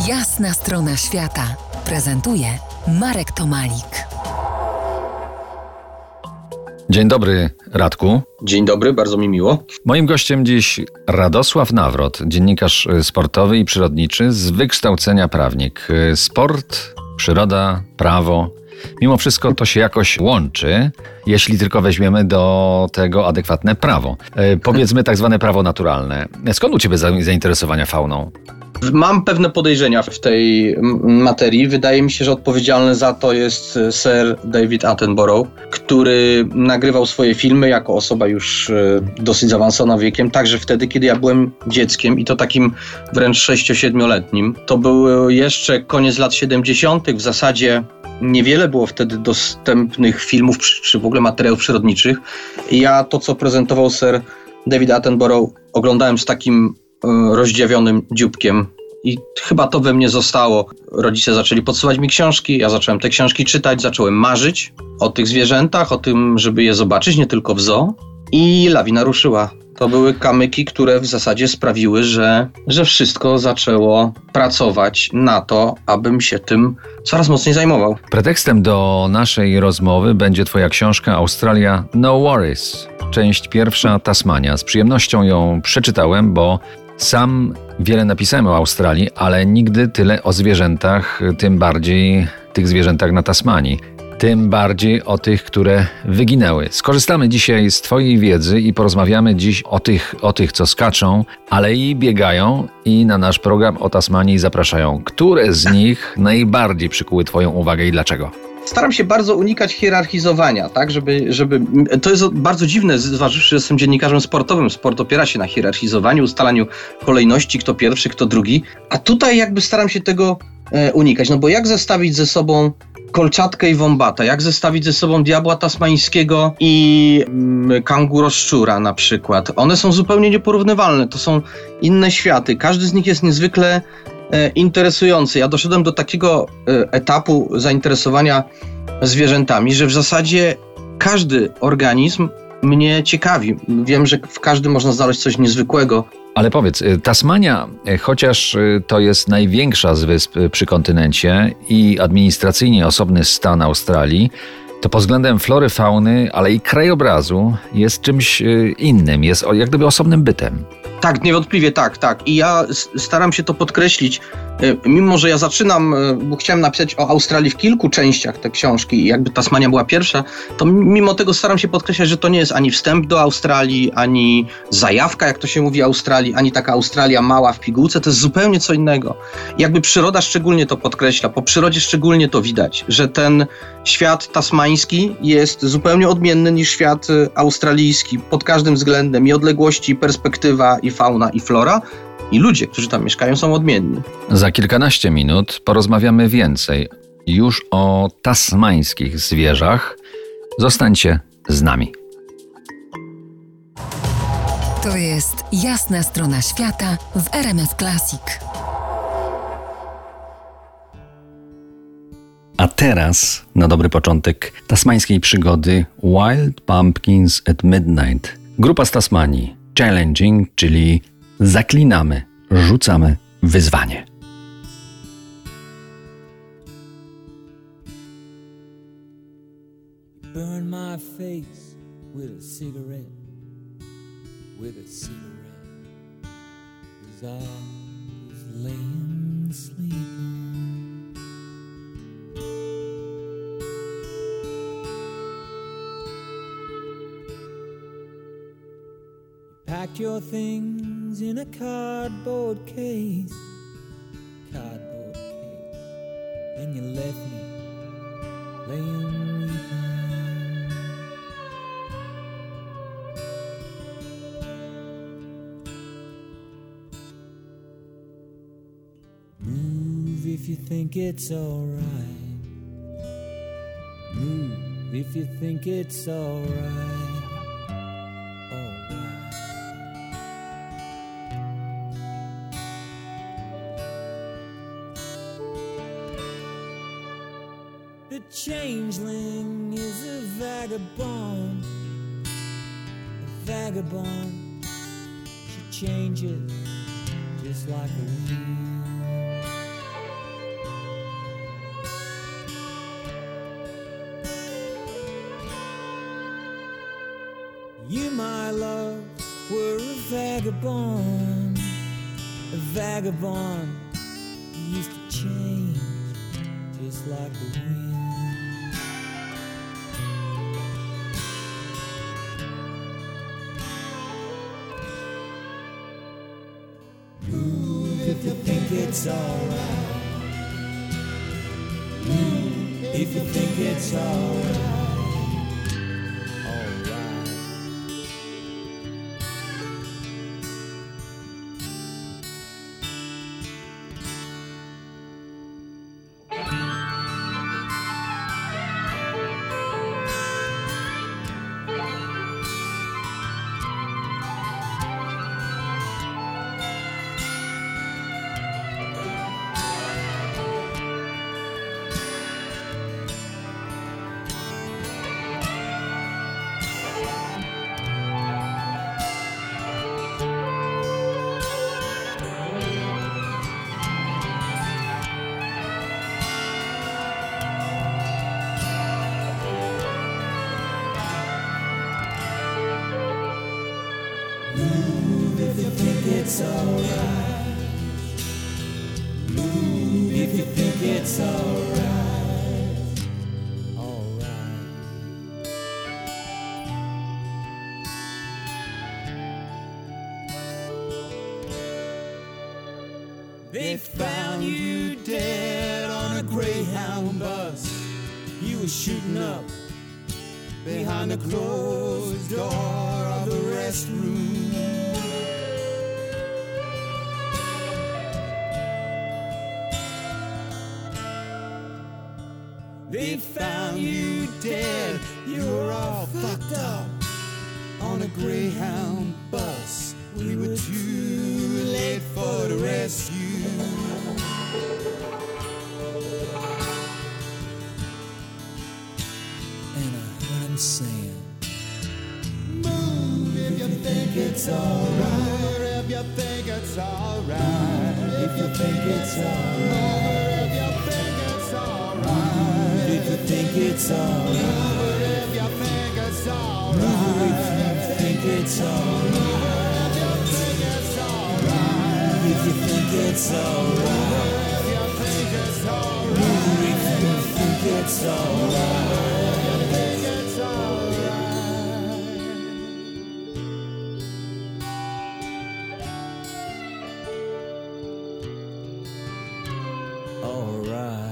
Jasna strona świata prezentuje Marek Tomalik. Dzień dobry, Radku. Dzień dobry, bardzo mi miło. Moim gościem dziś Radosław Nawrot, dziennikarz sportowy i przyrodniczy, z wykształcenia prawnik. Sport, przyroda, prawo. Mimo wszystko to się jakoś łączy, jeśli tylko weźmiemy do tego adekwatne prawo. Powiedzmy tak zwane prawo naturalne. Skąd u ciebie zainteresowania fauną? Mam pewne podejrzenia w tej materii. Wydaje mi się, że odpowiedzialny za to jest Sir David Attenborough, który nagrywał swoje filmy jako osoba już dosyć zaawansowana wiekiem, także wtedy, kiedy ja byłem dzieckiem i to takim wręcz 6-7-letnim. To był jeszcze koniec lat 70. W zasadzie niewiele było wtedy dostępnych filmów czy w ogóle materiałów przyrodniczych. I ja to, co prezentował Sir David Attenborough, oglądałem z takim rozdziawionym dzióbkiem i chyba to we mnie zostało. Rodzice zaczęli podsyłać mi książki, ja zacząłem te książki czytać, zacząłem marzyć o tych zwierzętach, o tym, żeby je zobaczyć, nie tylko w zoo, i lawina ruszyła. To były kamyki, które w zasadzie sprawiły, że wszystko zaczęło pracować na to, abym się tym coraz mocniej zajmował. Pretekstem do naszej rozmowy będzie twoja książka Australia No Worries. Część pierwsza, Tasmania. Z przyjemnością ją przeczytałem, bo sam wiele napisałem o Australii, ale nigdy tyle o zwierzętach, tym bardziej tych zwierzętach na Tasmanii. Tym bardziej o tych, które wyginęły. Skorzystamy dzisiaj z twojej wiedzy i porozmawiamy dziś o tych, co skaczą, ale i biegają, i na nasz program o Tasmanii zapraszają. Które z nich najbardziej przykuły twoją uwagę i dlaczego? Staram się bardzo unikać hierarchizowania, tak, żeby to jest bardzo dziwne, zważywszy, że jestem dziennikarzem sportowym. Sport opiera się na hierarchizowaniu, ustalaniu kolejności, kto pierwszy, kto drugi, a tutaj jakby staram się tego unikać, no bo jak zestawić ze sobą kolczatkę i wombata, jak zestawić ze sobą diabła tasmańskiego i kanguroszczura na przykład. One są zupełnie nieporównywalne, to są inne światy, każdy z nich jest niezwykle interesujący. Ja doszedłem do takiego etapu zainteresowania zwierzętami, że w zasadzie każdy organizm mnie ciekawi. Wiem, że w każdym można znaleźć coś niezwykłego. Ale powiedz, Tasmania, chociaż to jest największa z wysp przy kontynencie i administracyjnie osobny stan Australii, to pod względem flory, fauny, ale i krajobrazu jest czymś innym, jest jak gdyby osobnym bytem. Tak, niewątpliwie tak. I ja staram się to podkreślić, mimo że ja zaczynam, bo chciałem napisać o Australii w kilku częściach te książki i jakby Tasmania była pierwsza, to mimo tego staram się podkreślać, że to nie jest ani wstęp do Australii, ani zajawka, jak to się mówi, Australii, ani taka Australia mała w pigułce, to jest zupełnie co innego. I jakby przyroda szczególnie to podkreśla, po przyrodzie szczególnie to widać, że ten świat tasmański jest zupełnie odmienny niż świat australijski pod każdym względem, i odległości, i perspektywa, i fauna, i flora, i ludzie, którzy tam mieszkają, są odmienni. Za kilkanaście minut porozmawiamy więcej już o tasmańskich zwierzach. Zostańcie z nami. To jest Jasna strona świata w RMF Classic. A teraz, na dobry początek tasmańskiej przygody Wild Pumpkins at Midnight. Grupa z Tasmanii. Challenging, czyli zaklinamy, rzucamy wyzwanie. Burn my face with a cigarette, 'cause I was laying sleeping. Packed your things in a cardboard case, and you left me laying weeping. Move if you think it's alright. Move if you think it's alright. The changeling is a vagabond, She changes just like a wheel. my love, were a vagabond. A vagabond, you used to change just like the wind. Move if you think it's alright. Move if you think it's alright. Alright. Move if you think it's alright. Move if you think it's alright. Alright. They found you dead on a Greyhound bus. You were shooting up behind the closed door of the restroom. They found you dead, you were all fucked up on a Greyhound bus. We were too late for the rescue. And I heard him saying, move if you think it's alright. If you think it's alright. If you think it's alright. If you think it's alright. If you think it's alright. If you think it's alright. If you think it's alright. If you think it's alright. If you think it's alright. If you think it's alright. If you think it's alright. Alright.